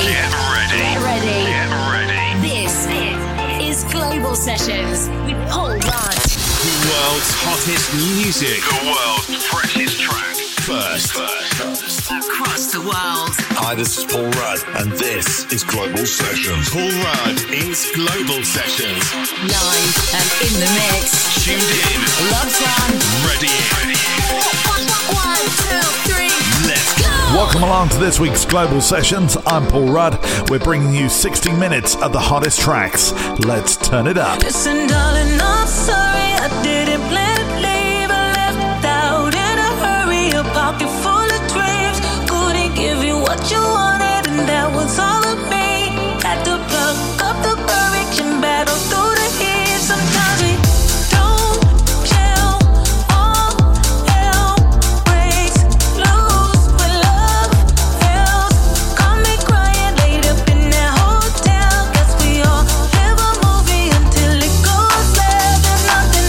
This is Global Sessions with Paul Rudd. The world's hottest music. The world's freshest track. First. Across the world. Hi, this is Paul Rudd, and this is Global Sessions. Paul Rudd is Global Sessions. Live and in the mix. Tuned in. Loves one. Ready. 1, 2, 3. Let's go. Welcome along to this week's Global Sessions. I'm Paul Rudd. We're bringing you 60 minutes of the hottest tracks. Let's turn it up. Listen, darling, I'm sorry I didn't plan to leave. I left out in a hurry, a pocket full of dreams. Couldn't give you what you wanted, and that was all of me. Had to pluck up the courage and battle through the heat. Sometimes we don't gel, all hell breaks loose when love fails. Caught me crying late up in that hotel. Guess we all live a movie until it goes left. There's nothing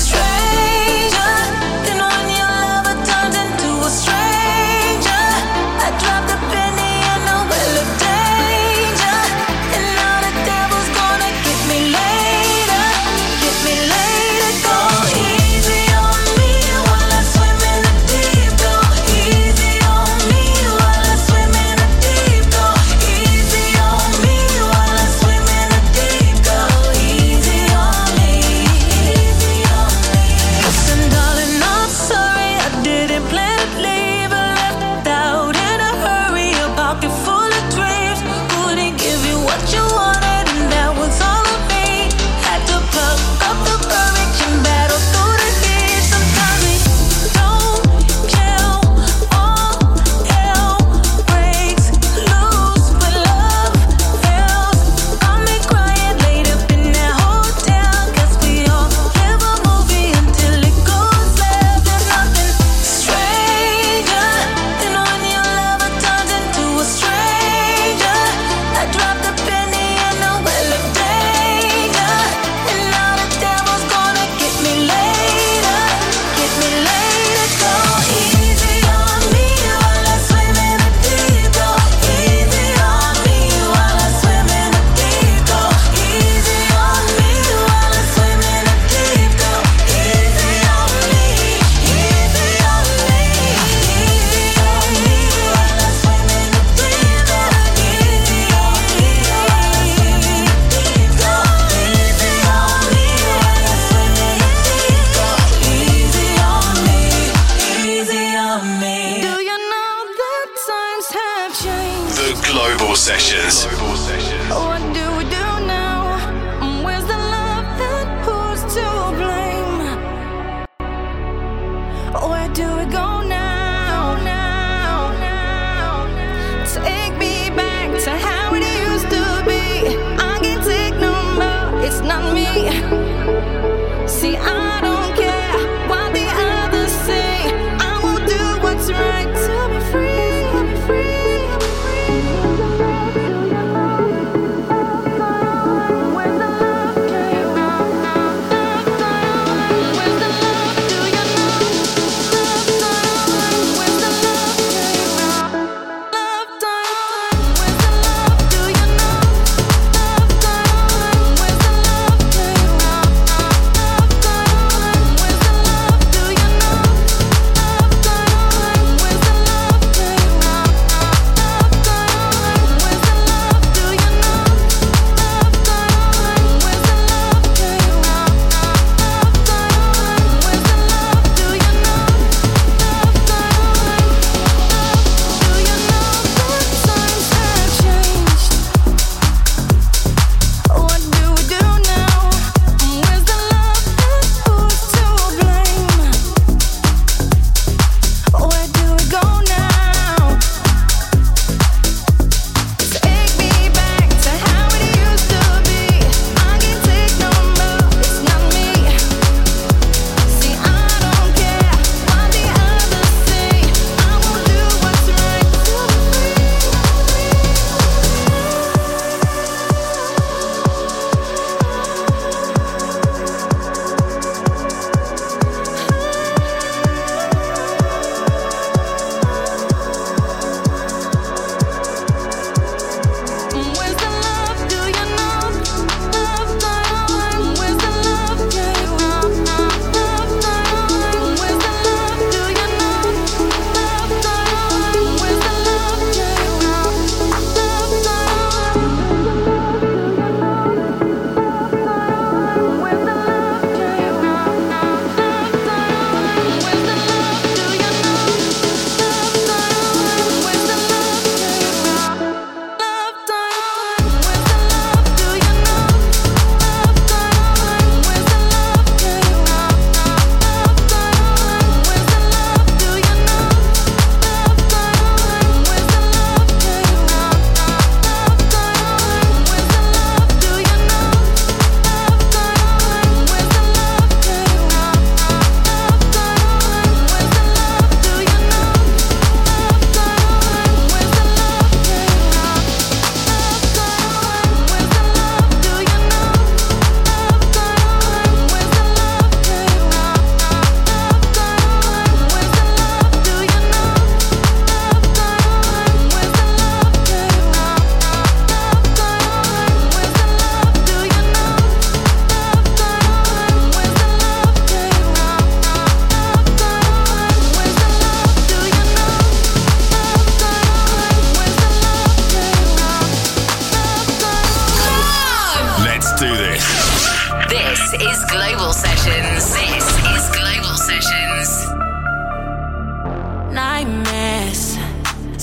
stranger than when your lover turns into a stranger. I dropped a penny in a well of danger, and now the devil's gonna get me later. Get me later. Go easy on me while I swim in the deep. Go easy on me while I swim in the deep. Go easy on me while I swim in the deep. Go easy on me. Easy on me. Listen, darling, I'm sorry I didn't plan to leave. I left out in a hurry, a pocket full of dreams. Couldn't give you what you wanted, and that was all of me. Had to pluck up the courage and battle through the heat. Sometimes we don't gel, all hell breaks loose when love fails. Got me crying late up in that hotel. Guess we all live a movie until it goes left. There's nothing stranger than when your lover turns into a stranger. I dropped a penny in a well of danger, and now the devil's gonna get me later. Get me later. Go easy on me while I swim in the deep. Go easy on me while I swim in the deep. Go easy on me while I swim in the deep. Go easy on me. Easy on me. Easy on me while I swim in the deep. Go easy on me while I swim in the deep. Go easy on me while I swim in the deep. Go easy on me. Easy on me. Do you know that times have changed? The Global Sessions. What do we do now? Where's the love and who's to blame? Where do we go now? Take me back to how it used to be. I can't take no more, it's not me. See, I don't care what the others say. I will do what's right to be free.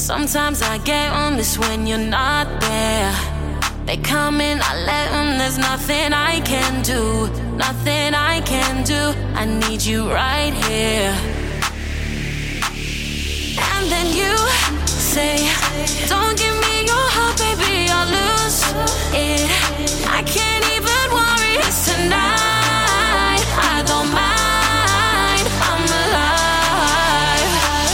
Sometimes I get on this when you're not there. They come in, I let them, there's nothing I can do. Nothing I can do, I need you right here. And then you say, don't give me your heart, baby, I'll lose it. I can't even worry, it's tonight. I don't mind, I'm alive.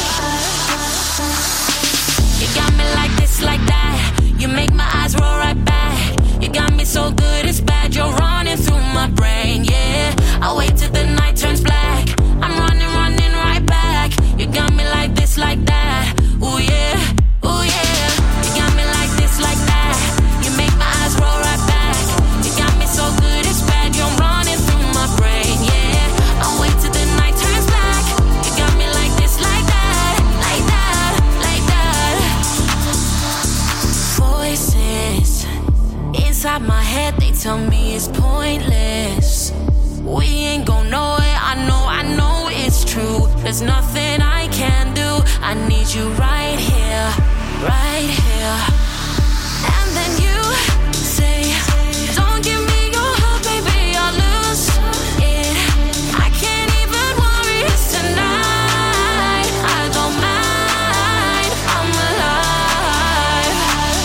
You got me like this, like that. You make my eyes roll right back. You got me so good, it's bad. You're running through my brain, yeah. I wait till the night turns black. I'm running right back. You got me like this, like that. Ooh yeah, ooh yeah. You got me like this, like that. You make my eyes roll right back. You got me so good, it's bad. You're running through my brain, yeah. I'll wait till the night turns black. You got me like this, like that, like that, like that. Voices inside my head, they tell me it's pointless. We ain't gon' know it, I know it's true. There's nothing I can do. I need you right here, right here. And then you say, don't give me your heart, baby, I'll lose it. I can't even worry, it's tonight. I don't mind, I'm alive.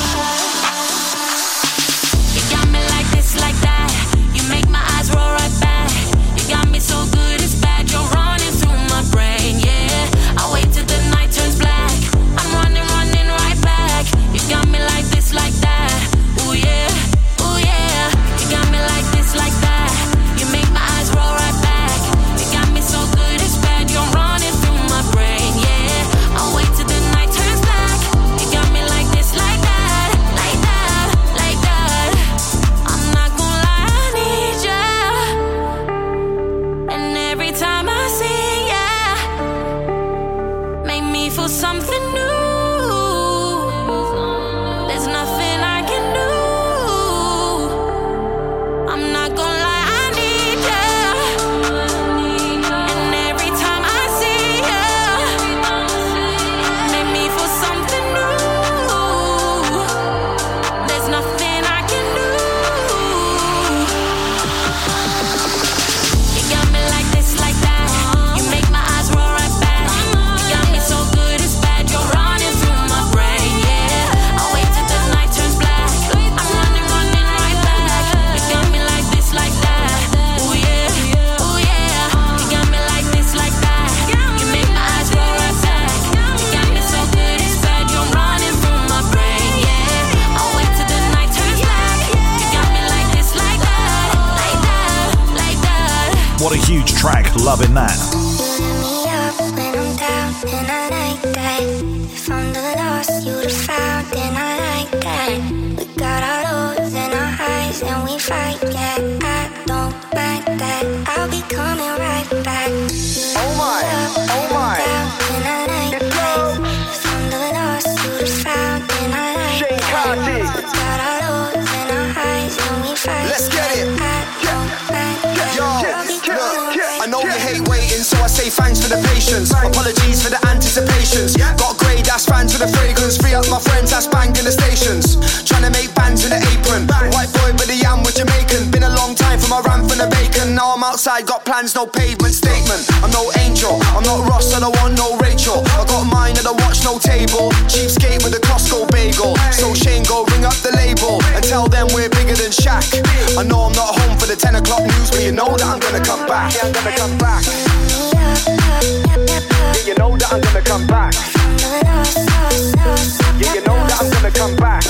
You got me like this, like that. You make my eyes roll right back. You got me so good, it's bad. You're running through my brain, yeah. I wait till the night turns black. I'm running right back. You got me like this, like that. Ooh yeah, ooh yeah. You got me like this, like that. You make my eyes roll right back. You got me so good, it's bad. You're running through my brain, yeah. I'll wait till the night turns black. You got me like this, like that, like that, like that. I'm not gonna lie, I need ya. And every time I see ya, make me feel something new. There's nothing I can do. I'm not gonna lie, I need ya. And every time I see ya, make me feel something new. There's nothing I can do. You got me like this, like that. You make my eyes roll right back. You got me so good, it's bad. You're running through my brain, yeah. I'll wait till the night turns black. I'm running right back. You got me like this, like that. Ooh yeah, ooh yeah. You got me like this, like that. You make my eyes roll right back. You got me so good, it's bad. You're running through my brain, yeah. I'll wait till the night turns black. You got me like this, like that, like that, like that. What a huge track, loving that. Me up when I'm down, and I like that. If I'm the lost you'd have found, then I like that. We got our lows and our highs, and we fight, yeah. I don't mind that. I'll be coming right back. Oh my, oh my. Down, and I like that. If I'm the lost you'd have found, then I like Shane that. Carty. We got our lows and our highs, and we fight. Let's get it. I don't mind that. Yo, I'll be coming look, I know you right hate waiting, so I say thanks for the patience. Apologies for the anticipations. Got grey ass fans for the fragrance. Free up my friends that's banging the stations. Trying to make bands in the apron. White boy with the yam with Jamaican. Been a long time from my ram from the bacon. Now I'm outside, got plans, no pavement statement. I'm no angel, I'm not Ross, I don't want no Rachel. I got mine and I watch no table. Cheapskate with a Costco bagel. So Shane go ring up the label and tell them we're bigger than Shaq. I know I'm not home for the 10 o'clock news, but you know that I'm gonna come back. Yeah, I'm gonna come back. Yeah, you know that I'm gonna come back. Yeah, you know that I'm gonna come back.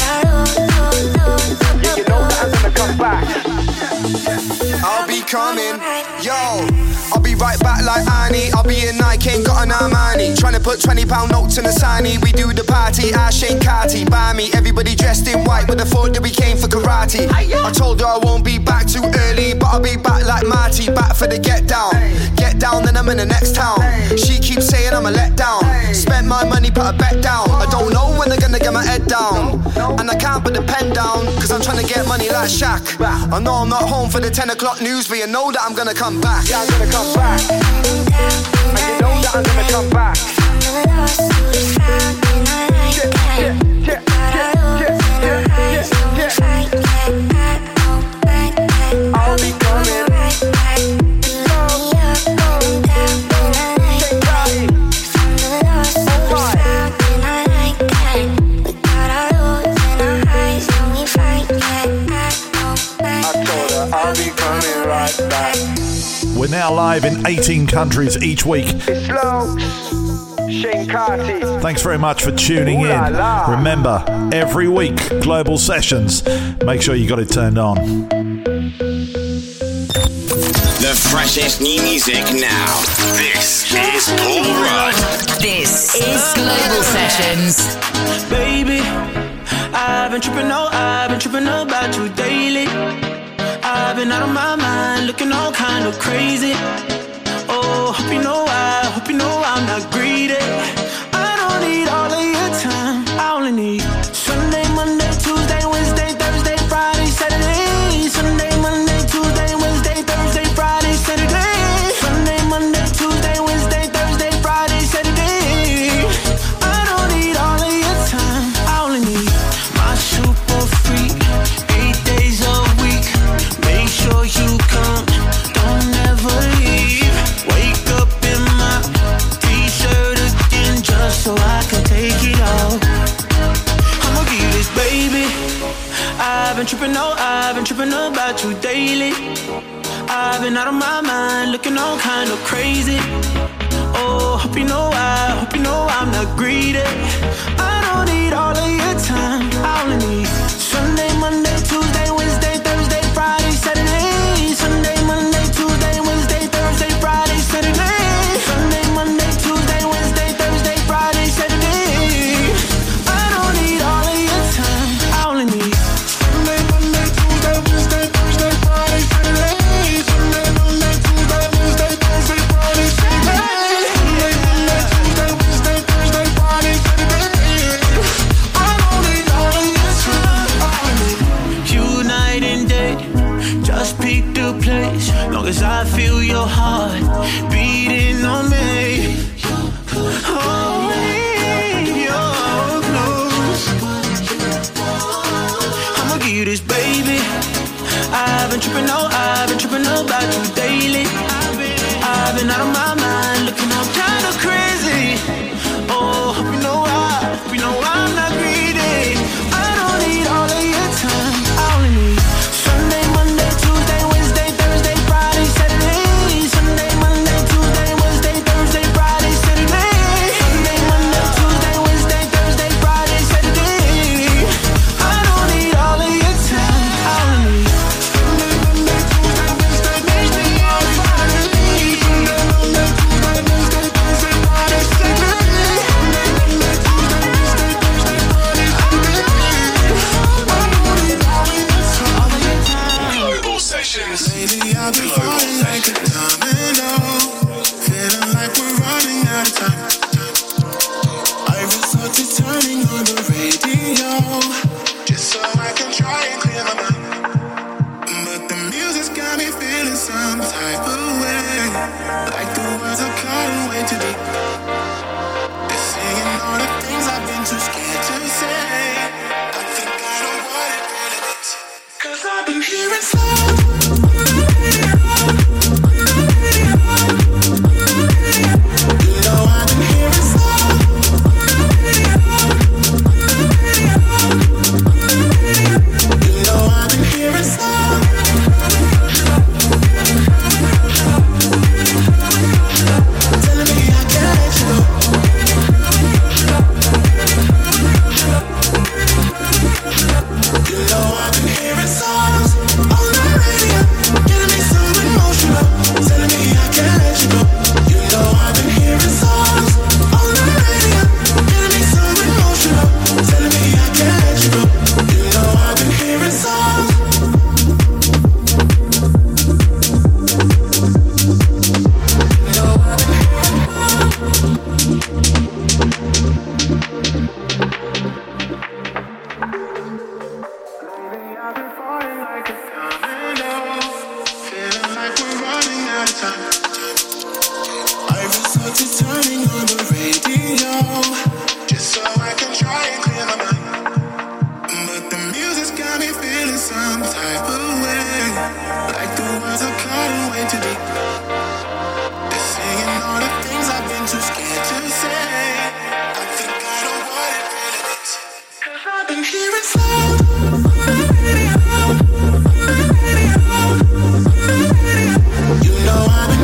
Yeah, you know that I'm gonna come back. I'll be coming, yo. I'll be right back like Annie. I'll be in Nike, ain't got an Armani. Trying to put £20 notes in the signy. We do the party, I Shane Carty. Buy me, everybody dressed in white with the thought that we came for karate. I told her I won't be back too early, but I'll be back like Marty. Back for the get down. Get down, then I'm in the next town. She keeps saying I'm a letdown. Spent my money, put a bet down. I don't know when they're gonna get my head down. And I can't put the pen down, cause I'm trying to get money like Shaq. I know I'm not home for the 10 o'clock news, but you know that I'm gonna come back. Yeah, I'm gonna come back. And you know that I'm gonna come back. We're now live in 18 countries each week. Thanks very much for tuning in. Remember, every week, Global Sessions. Make sure you got it turned on. The freshest new music now. This is Paul Rudd. This is Global Sessions. Baby, I've been tripping about you daily. I've been out of my mind, looking all kind of crazy. Oh, hope you know I'm not greedy. I don't need all of your time, I only need Sunday, Monday, Tuesday, Wednesday, Thursday, Friday, Saturday. Sunday, Monday, Tuesday, Wednesday, Thursday, Friday, Saturday. Sunday, Monday, Tuesday, Wednesday, Thursday, Friday, Saturday. I don't need all of your time, I only need my super freak, 8 days a week. Make sure you come, don't ever leave. Wake up in my t-shirt again just so I can take it off. I'ma give you this, baby. I've been tripping about you daily. I've been out of my mind, looking all kind of crazy. Oh, hope you know I'm not greedy. I don't need all of your time, I only need Sunday, Monday, Tuesday, Wednesday, Thursday, Friday, Saturday. Sunday, Monday, Tuesday, Wednesday, Thursday, Friday, Saturday. Sunday, Monday, Tuesday, Wednesday, Thursday, Friday, Saturday. I don't need all of your time, I only need Sunday, Monday, Tuesday, Wednesday, Thursday, Friday, Saturday. Sunday, Monday, Tuesday, Wednesday, Thursday, Friday, Saturday. Sunday, Monday, Tuesday, Wednesday, Thursday, Friday, Saturday. I don't need all of your time, I only need you night and day. Just pick the place, long as I feel your heart beating on me. Oh, you're close. I'ma give you this, baby. I've been tripping about you daily. I've been out of my mind, looking all kind of crazy. Oh, hope you know I'm not greedy. I don't need all of your time, I only need Sunday, Monday, Tuesday, Wednesday, Thursday, Friday, Saturday. Sunday, Monday, Tuesday, Wednesday, Thursday, Friday, Saturday. Sunday, Monday, Tuesday, Wednesday, Thursday, Friday, Saturday. I don't need all of your time, I only need Sunday, Monday, Tuesday, Wednesday, Thursday, Friday, Saturday. Sunday, Monday, Tuesday, Wednesday, Thursday, Friday, Saturday. Sunday, Monday, Tuesday, Wednesday, Thursday, Friday, Saturday. I don't need all of your time. Global Sessions. Lately I've been falling like a domino, feeling like we're running out of time. I resort to turning on the radio, just so I can try and clear my mind. But the music's got me feeling some type of way, like the words are cutting way too deep. They're singing all the things I've been too scared to say. I think I know what it really means, 'cause I've been hearing sounds. You know I've been hearing sounds. You know I've been hearing sounds. Telling me I can't let you go. You know I've been hearing songs on the radio, getting me so emotional. Telling me I can't let you go. You know I've been hearing songs on the radio, getting me so emotional. Telling me I can't let you go. You know I've been hearing songs. You know I've been I've been falling like a domino, feeling like we're running out of time. I resort to turning on the radio, just so I can try and clear my mind. But the music's got me feeling some type of way, like the words are cutting way too deep. They're singing all the things I've been too scared to say. I think I know what it really means, 'cause I've been hearing sounds. You know I've been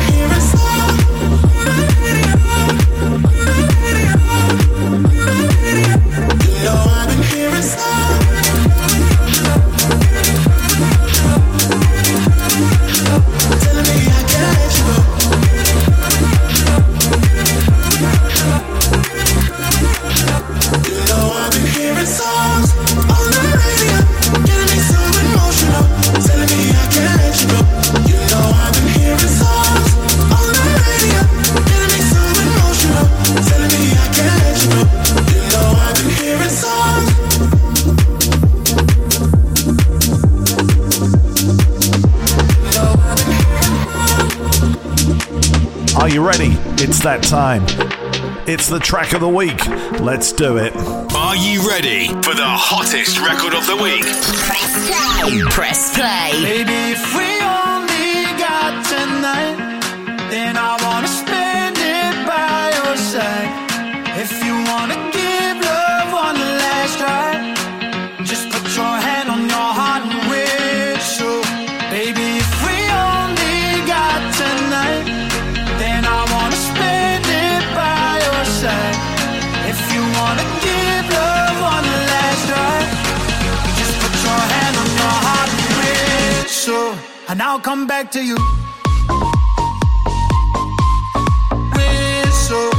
know I've been hearing songs on the radio, getting me so emotional, telling me I can't let you go. You know I've been hearing songs on the radio, getting me so emotional, telling me I can't let you go. You know I've been hearing songs. Are you ready? It's that time. It's the track of the week. Let's do it. Are you ready for the hottest record of the week? Press play. Baby, if we only got tonight, then I wanna spend it by your side. If you wanna give love one last try, just put your hand on your heart and whistle. Baby, if we only got tonight, then I wanna spend it by your side. If you wanna give love one last try, just put your hand on your heart and whistle, and I'll come back to you. Whistle,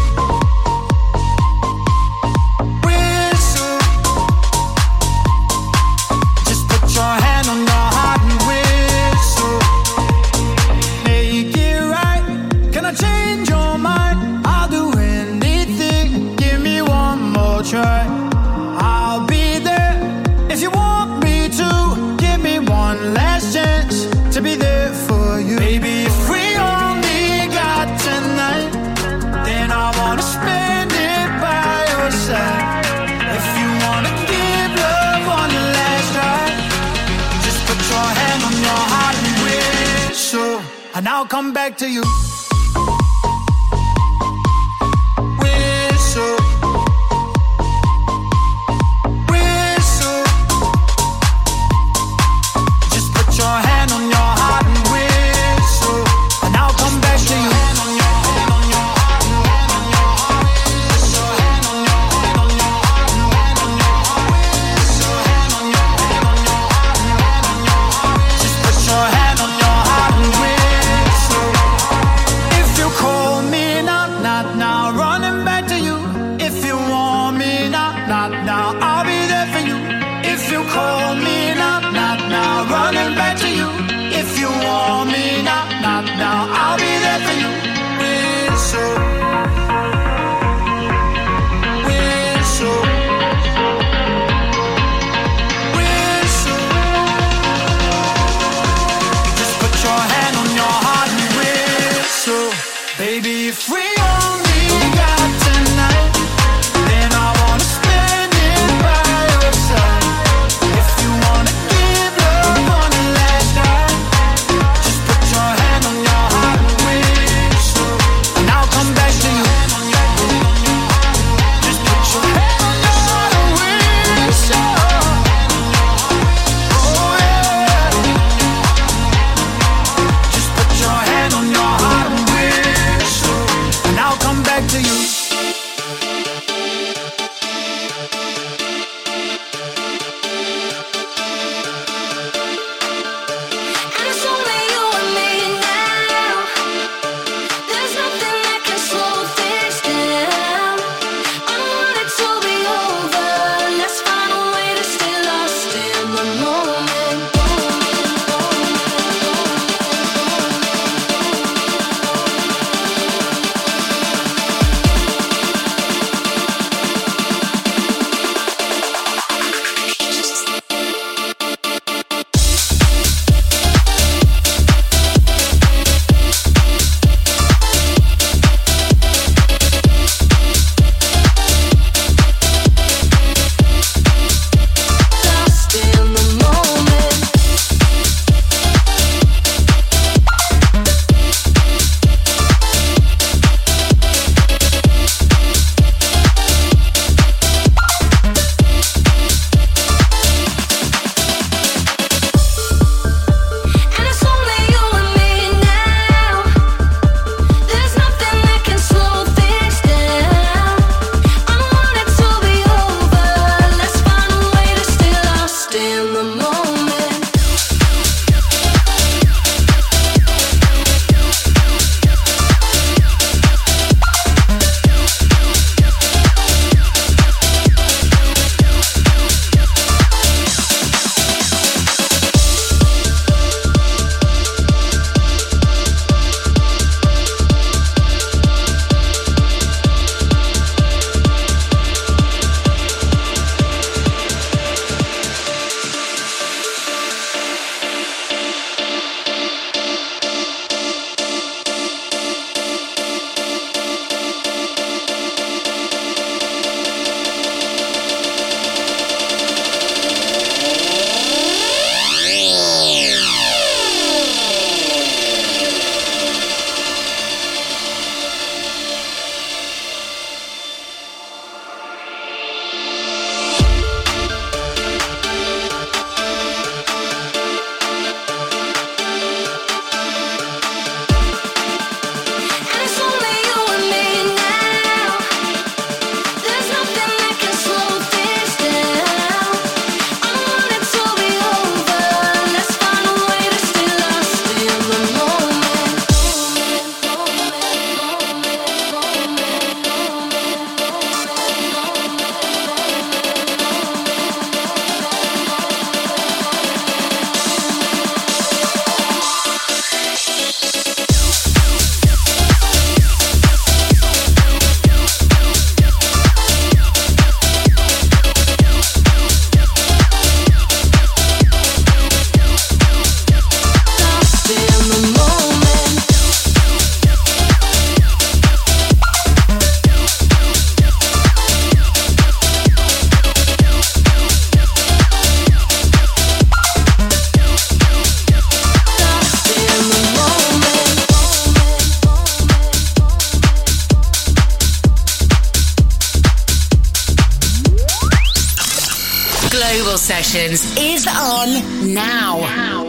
whistle, just put your hand on your heart and whistle. Make it right. Can I change your mind? I'll do anything. Give me one more try. I'll be there if you want me to. Give me one last chance to be there for you. Baby, if we only got tonight, then I wanna spend it by your side. If you wanna give love one last try, just put your hand on your heart and whistle, and I'll come back to you. Whistle, whistle, just put your hand on your heart and whistle, and I'll come back to you. Just put your hand on your heart and whistle. If you call me now, not now, running back to you. If you want me now, not now, I'll be there for you. If you call me now, not now, running back to you. If you want me now, not now, I'll be there for you. Whistle, whistle, whistle. Just put your hand on your heart and whistle. Baby, if we only got tonight, then I wanna spend it by your side. If you Global Sessions is on now.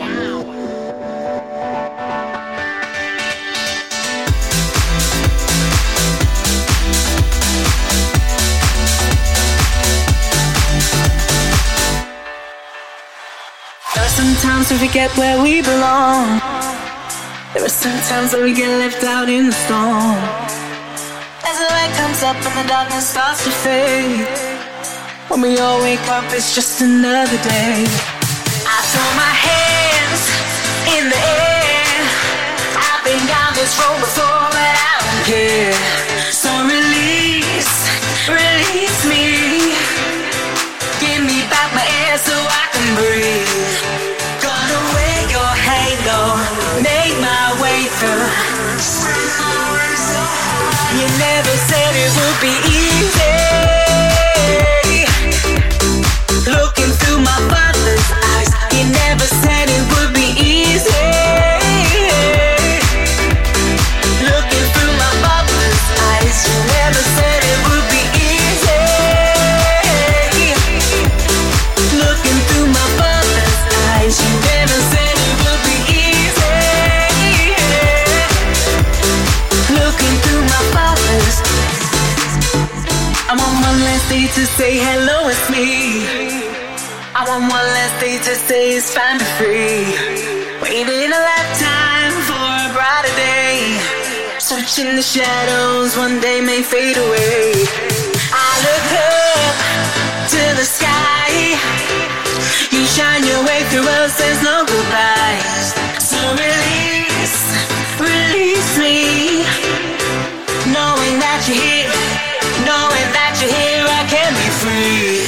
There are some times we forget where we belong. There are some times that we get left out in the storm. As the light comes up and the darkness starts to fade, when we all wake up, it's just another day. I throw my hands in the air. I've been down this road before, but I don't care. So release me. Give me back my air so I can breathe. Gonna wear your halo, make my way through. You never said it would be easy. Looking through my father's eyes, you never said it would be easy. Looking through my father's eyes, you never said it would be easy. Looking through my father's eyes, you never said it would be easy. Looking through my father's eyes. I want one last day to say hello, it's me. I want one last day to say it's fine, be free. Waiting a lifetime for a brighter day. Searching the shadows, one day may fade away. I look up to the sky. You shine your way through us, there's no goodbyes. So release me. Knowing that you're here, knowing that you're here, I can be free.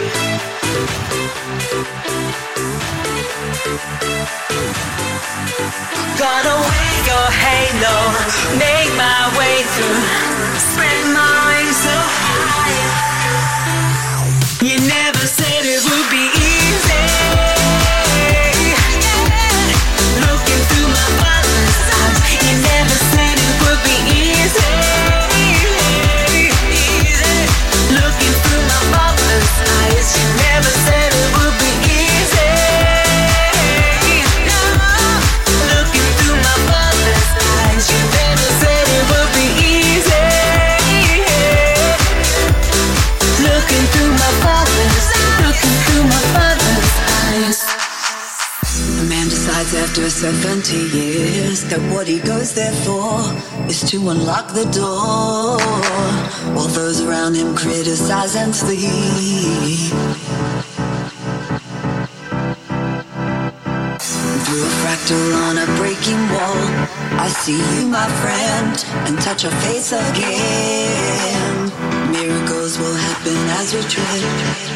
Gonna wear your halo, make my way through, spread my wings so high. You never said it would be easy. Looking through my father's eyes, you never said it would be easy. Looking through my father's eyes, you never said it would be easy. Looking through my father's eyes, you never said it would be easy. Looking through my father's eyes. A man decides after 70 years that what he goes there for is to unlock the door, while those around him criticize and sleep. Through a fractal on a breaking wall, I see you, my friend, and touch your face again. Miracles will happen as we tread.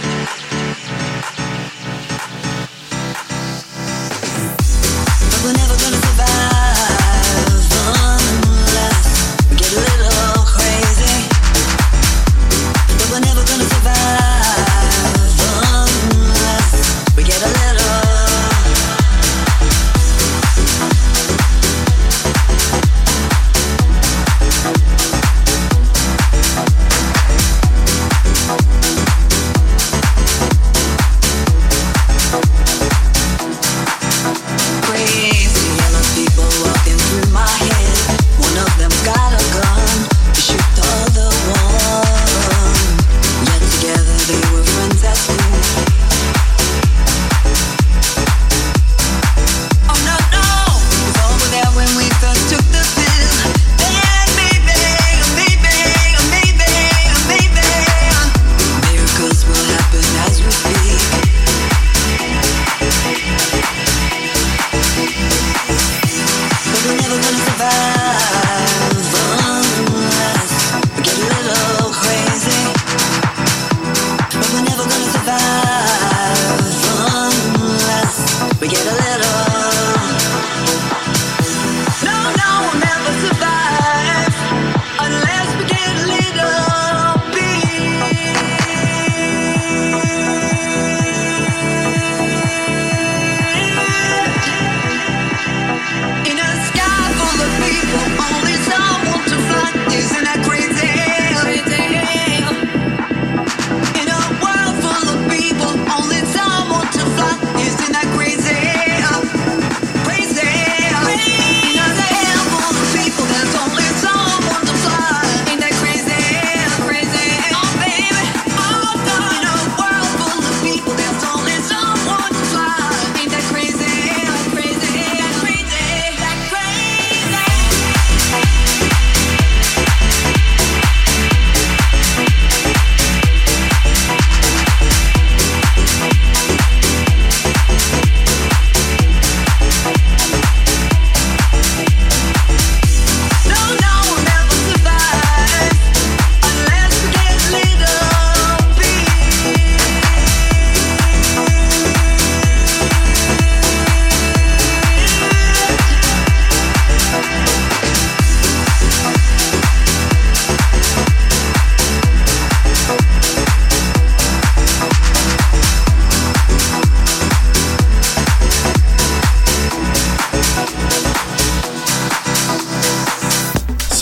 We're never gonna survive unless we get a little crazy. But we're never gonna survive unless we get a little.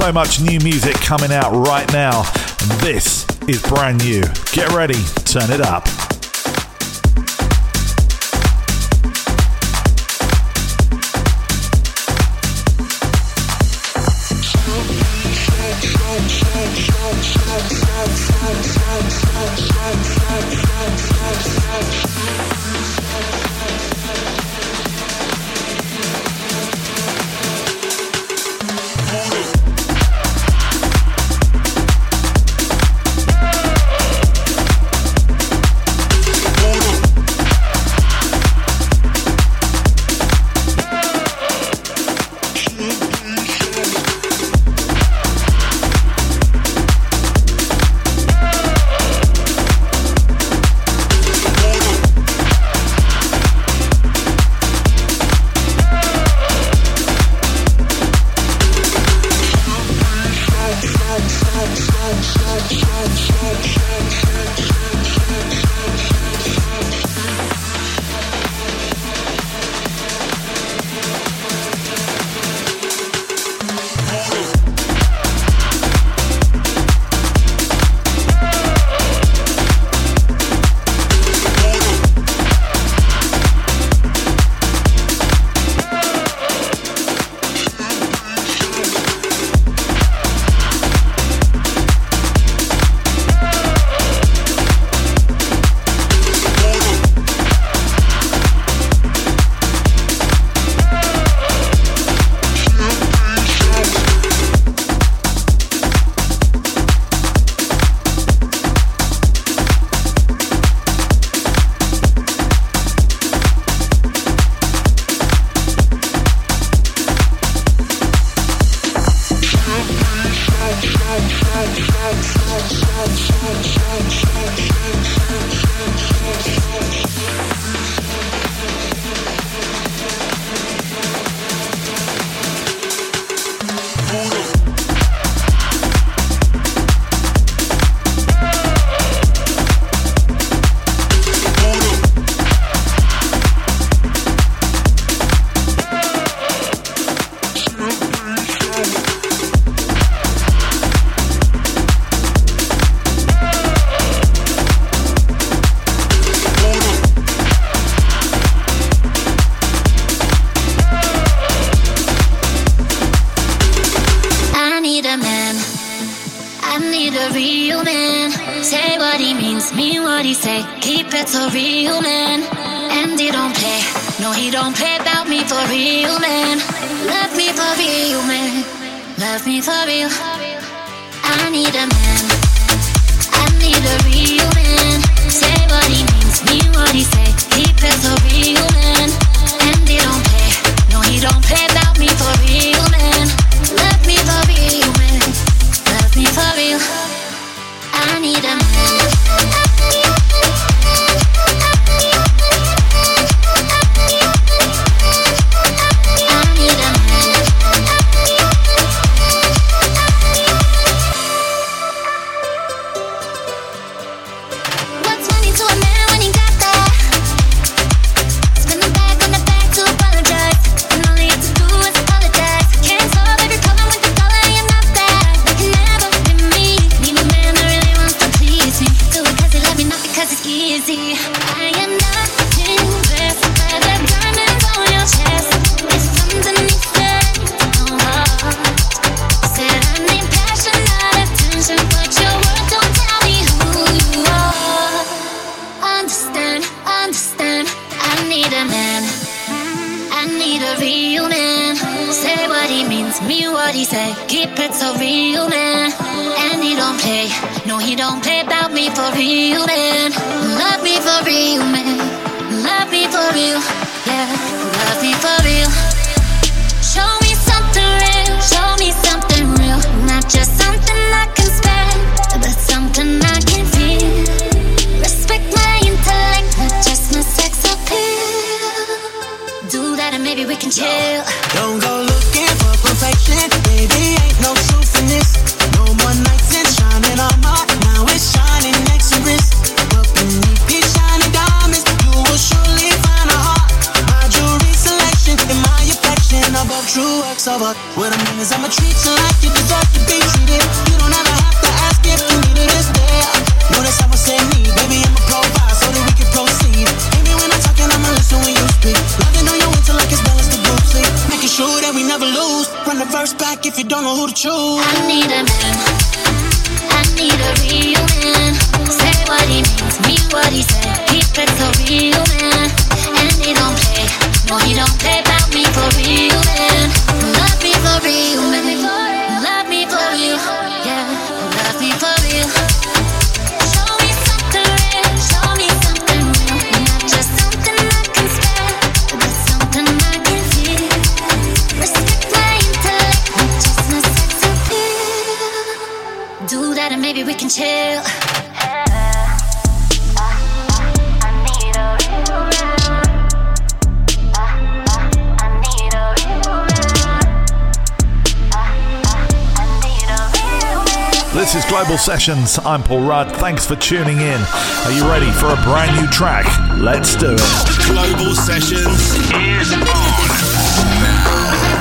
so much new music coming out right now. And this is brand new. Get ready, turn it up. True works covered. What I mean is I'ma treat you like you deserve to be treated. You don't ever have to ask if you need it, it's there. Notice I would say me, baby, I'ma provide so that we can proceed. Maybe when I'm talking, I'ma listen when you speak. Loving on your way till like it's balance the blue sleep. Making sure that we never lose. Run the verse back if you don't know who to choose. I need a man, I need a real man. Say what he means, mean what he said. Keep it so real, man. And he don't play, no he don't play about me for real, man. Love me for real, man. Love me for real, yeah. Love me for real. Show me something real, show me something real. Not just something I can spell, but something I can feel. Respect my intellect, not just my sex appeal. Do that and maybe we can chill. This is Global Sessions. I'm Paul Rudd. Thanks for tuning in. Are you ready for a brand new track? Let's do it. Global Sessions is on now.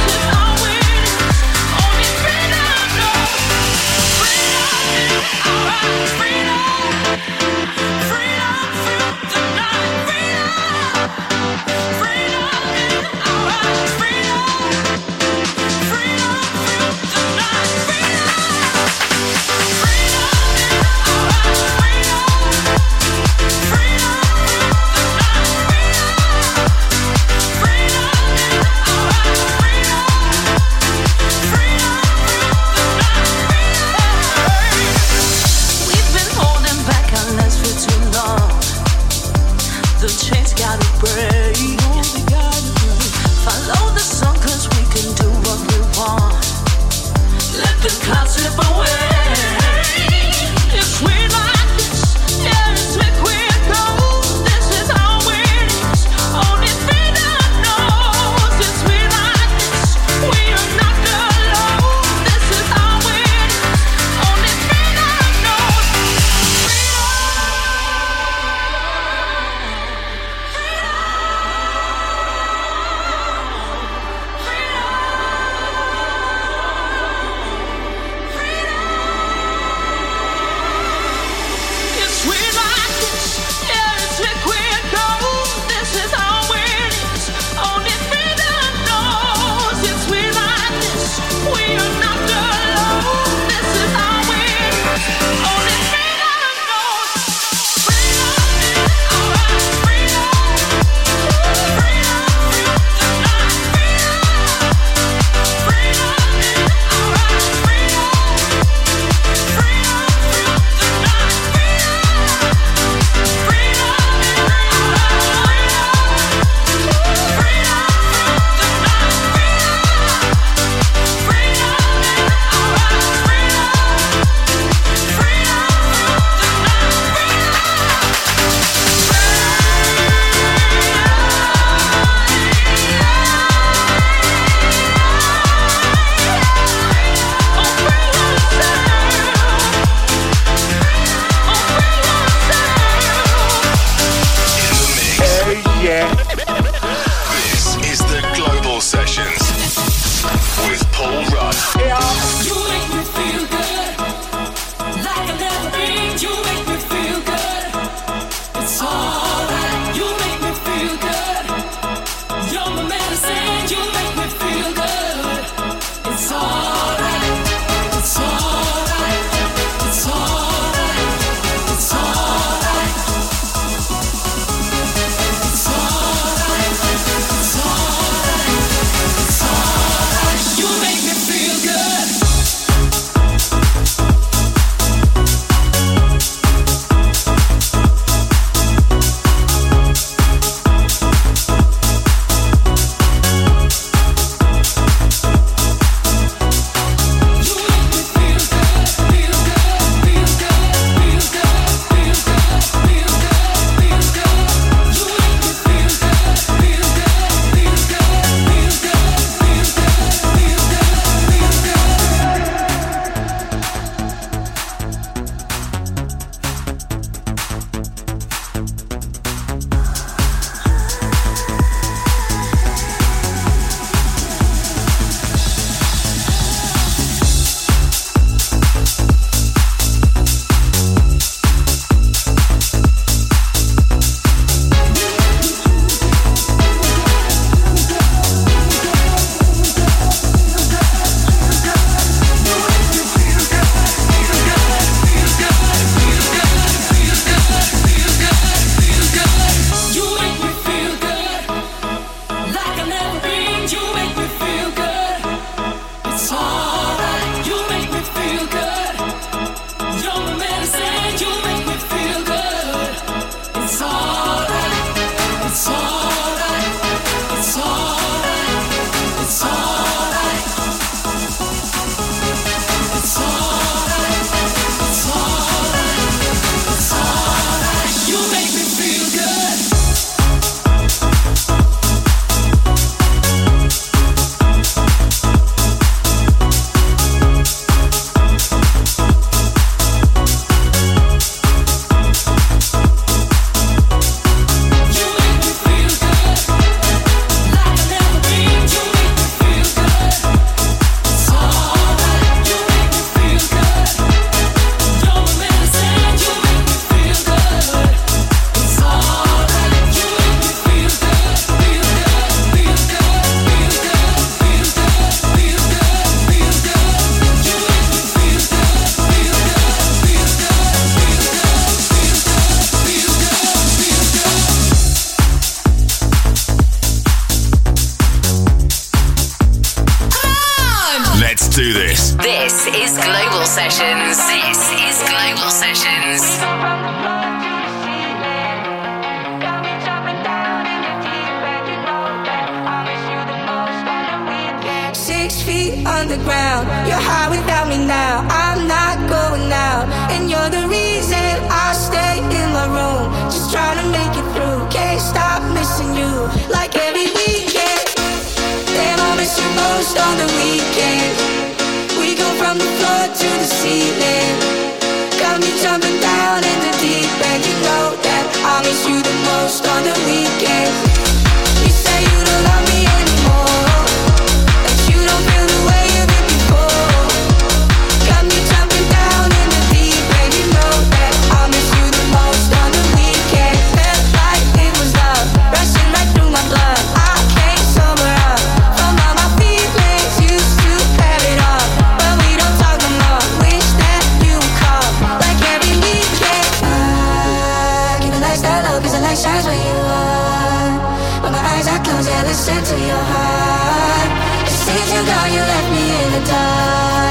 All right. do this. This is Global Sessions. This is Global Sessions. 6 feet underground, you're high without me now. I'm not going out, and you're the reason I stay in my room, just trying to make it through. Can't stop missing you, like every weekend. Damn, I miss you most on the weekend. We go from the floor to the ceiling. Got me jumping down in the deep end. You know that I miss you the most on the weekend. You say you don't love me anymore, that you don't feel the way you did before. Got me jumping down in the deep end. You know that I miss you the most on the weekend. Felt like it was love, rushing right through my blood. I can't sober up from all my feelings. Used to have it all, but we don't talk no more. Wish that you would call, like every weekend. I give a lifestyle love, 'cause the light shines where you are. When my eyes are closed, yeah, listen to your heart. It seems you gone, you left me in the dark.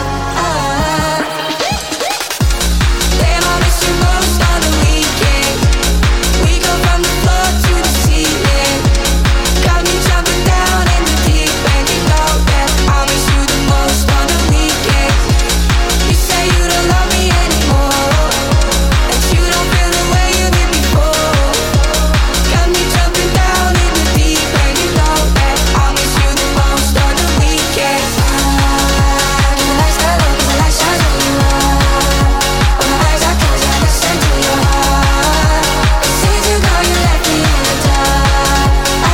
Damn, I miss you most on the weekend. We go from the floor to the ceiling. Got me jumping down in the deep end. You know that I miss you the most on the weekend. You say you don't love me anymore, that you don't feel the way you did before. Got me jumping down in the deep end. You know that I miss you the most on the weekend. Give a lifestyle love, 'cause the light shines where you are. When my eyes are closed, I listen to your heart. It seems you know you left me in the dark.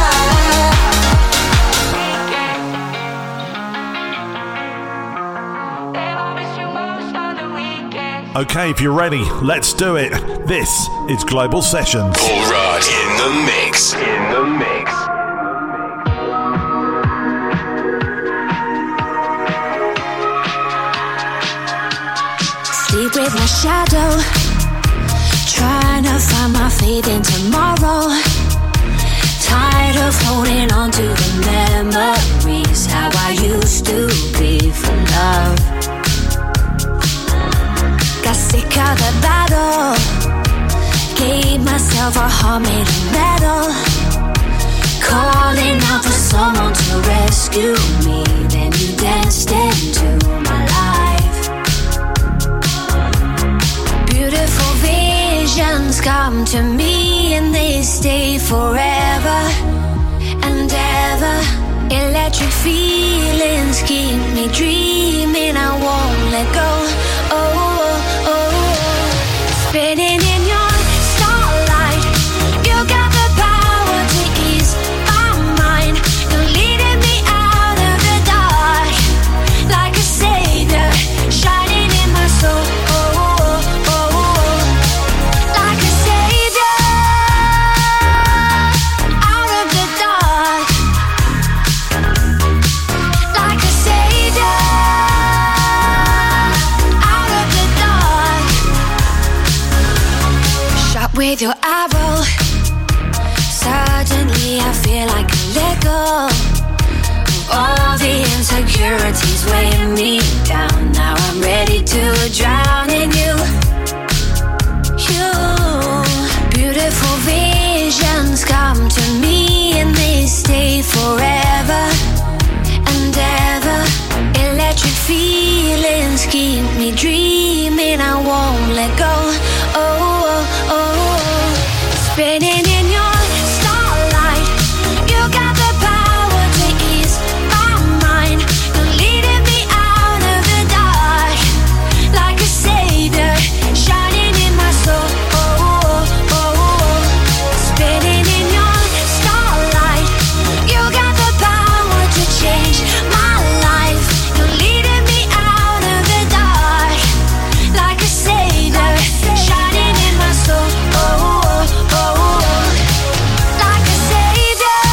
Damn, I miss you most on the weekend. Okay, if you're ready, let's do it. This is Global Sessions. Paul Rudd in the mix. In the mix. Sleep with my shadow, trying to find my faith in tomorrow. Tired of holding on to the memories, how I used to be for love. Got sick of the battle, gave myself a heart made of metal. Calling out for someone to rescue me, then you danced into my life. Beautiful visions come to me and they stay forever and ever. Electric feelings keep me dreaming, I won't let go. Oh, oh, oh. Spinning in your starlight, you got the power to ease my mind. You're leading me out of the dark, like a savior, shining in my soul. Like a savior, out of the dark. Like a savior, out of the dark. Shot with your arrow, suddenly I feel like I let go of all the insecurities weighing me down. Now I'm ready to drown in you. You, beautiful visions come to me and they stay forever and ever. Electric feelings keep me dreaming, I won't let go. Oh, oh, oh. Spinning in your starlight, you got the power to ease my mind. You're leading me out of the dark, like a savior, shining in my soul. Spinning in your starlight, you got the power to change my life. You're leading me out of the dark, like a savior, shining in my soul. Like a savior,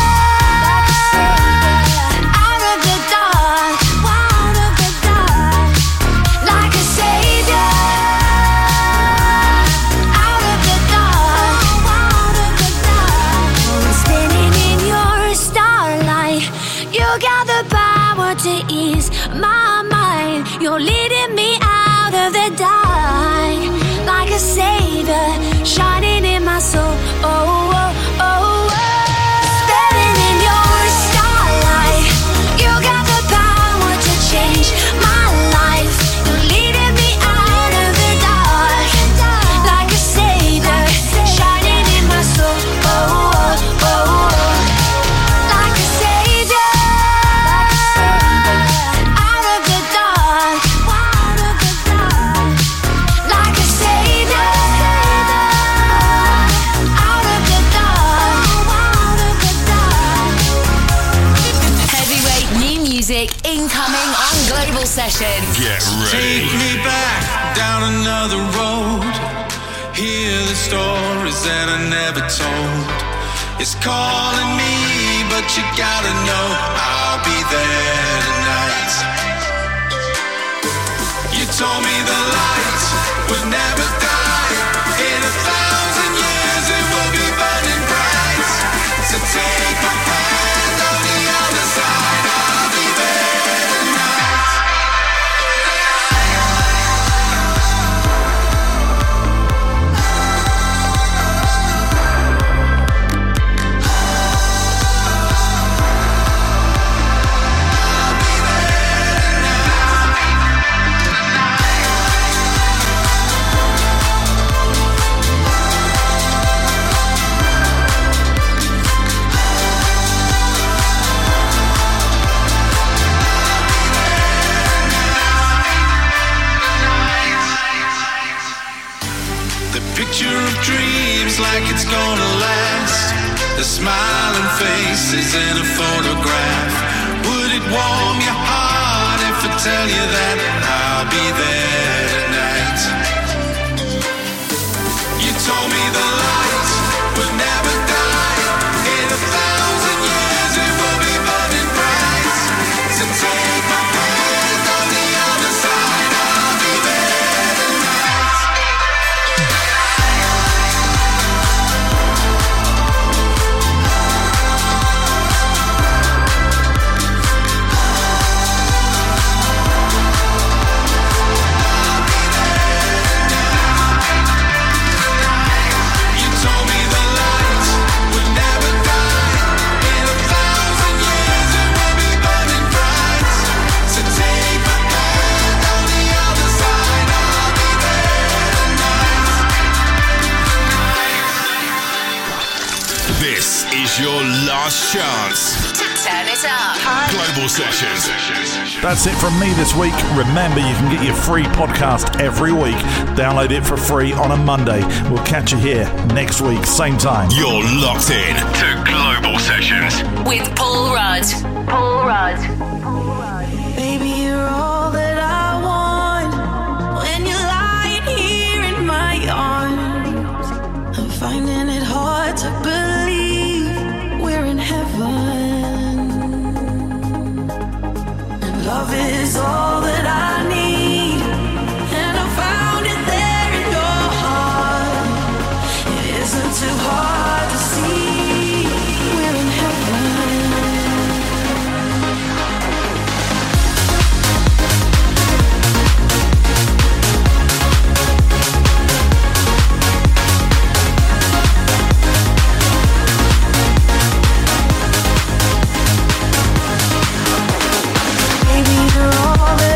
out of the dark, out of the dark. Like a savior, out of the dark, out of the dark. Spinning in your starlight, you got the power to ease my mind. line. You're leading me out of the dark, like a savior shining in my soul. Oh, oh, oh, oh. Standing in your starlight, you got the power to change my life. You're leading me out of the dark, like a savior shining in my soul. Oh, oh, oh, oh. Like a savior out of the dark, like a savior out of the dark. Heavyweight new music incoming on Global Sessions. Get ready. Take me back down another road. Hear the stories that I never told. It's calling me, but you gotta know I'll be there tonight. You told me the light would never die. In 1,000 years it will be burning bright. So take my hand on the other side. I'll be there tonight. The picture of dreams like it's gonna last. The smiling faces in a photograph. Would it warm your heart if I tell you that I'll be there tonight? You told me the light would never die. In 1,000 years it will be burning bright. So take my hand on the other side. I'll be there tonight. You told me the light would never die. In 1,000 years it will be burning bright. So take my hand on the other side. I'll be there tonight. This is your last chance. To turn it up. Global Sessions. That's it from me this week. Remember, you can get your free podcast every week. Download it for free on a Monday. We'll catch you here next week, same time. You're locked in to Global Sessions. With Paul Rudd. Paul Rudd. Baby, you're all that I want. When you're lying here in my arms, I'm finding it hard to believe we're in heaven. And love is all that I need, and I found it there in your heart. It isn't too hard to see we're in heaven. Baby, you're all that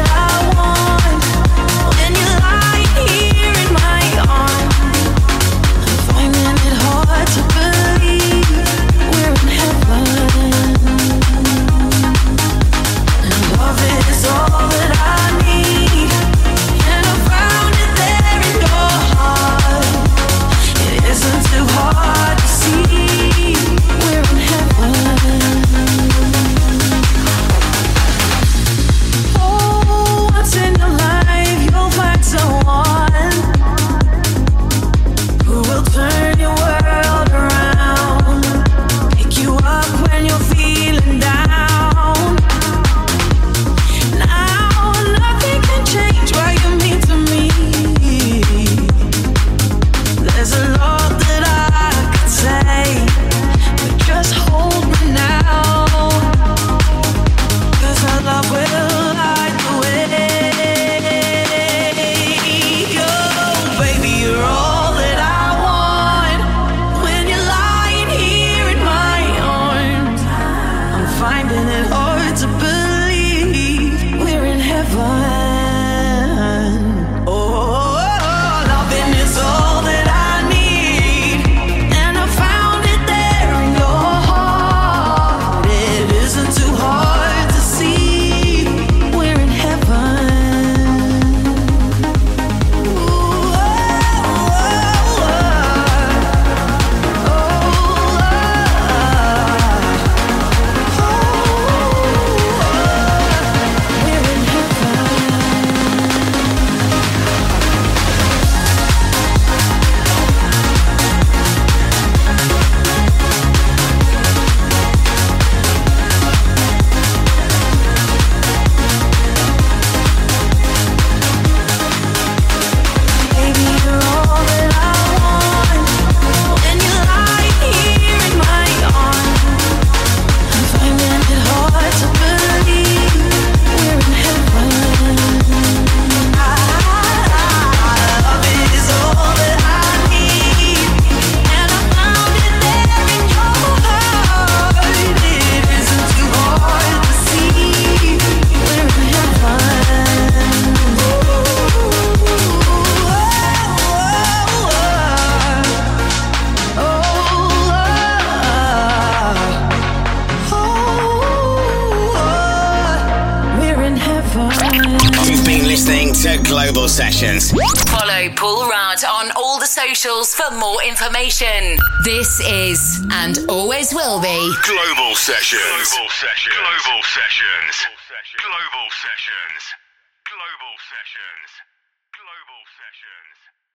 in heaven. You've been listening to Global Sessions. Follow Paul Rudd on all the socials for more information. This is, and always will be, Global Sessions. Global Sessions. Global Sessions. Global Sessions. Global Sessions. Global Sessions.